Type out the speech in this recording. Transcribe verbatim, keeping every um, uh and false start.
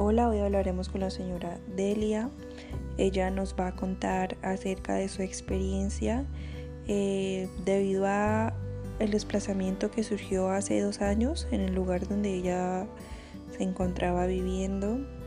Hola, hoy hablaremos con la señora Delia. Ella nos va a contar acerca de su experiencia eh, debido a el desplazamiento que surgió hace dos años en el lugar donde ella se encontraba viviendo.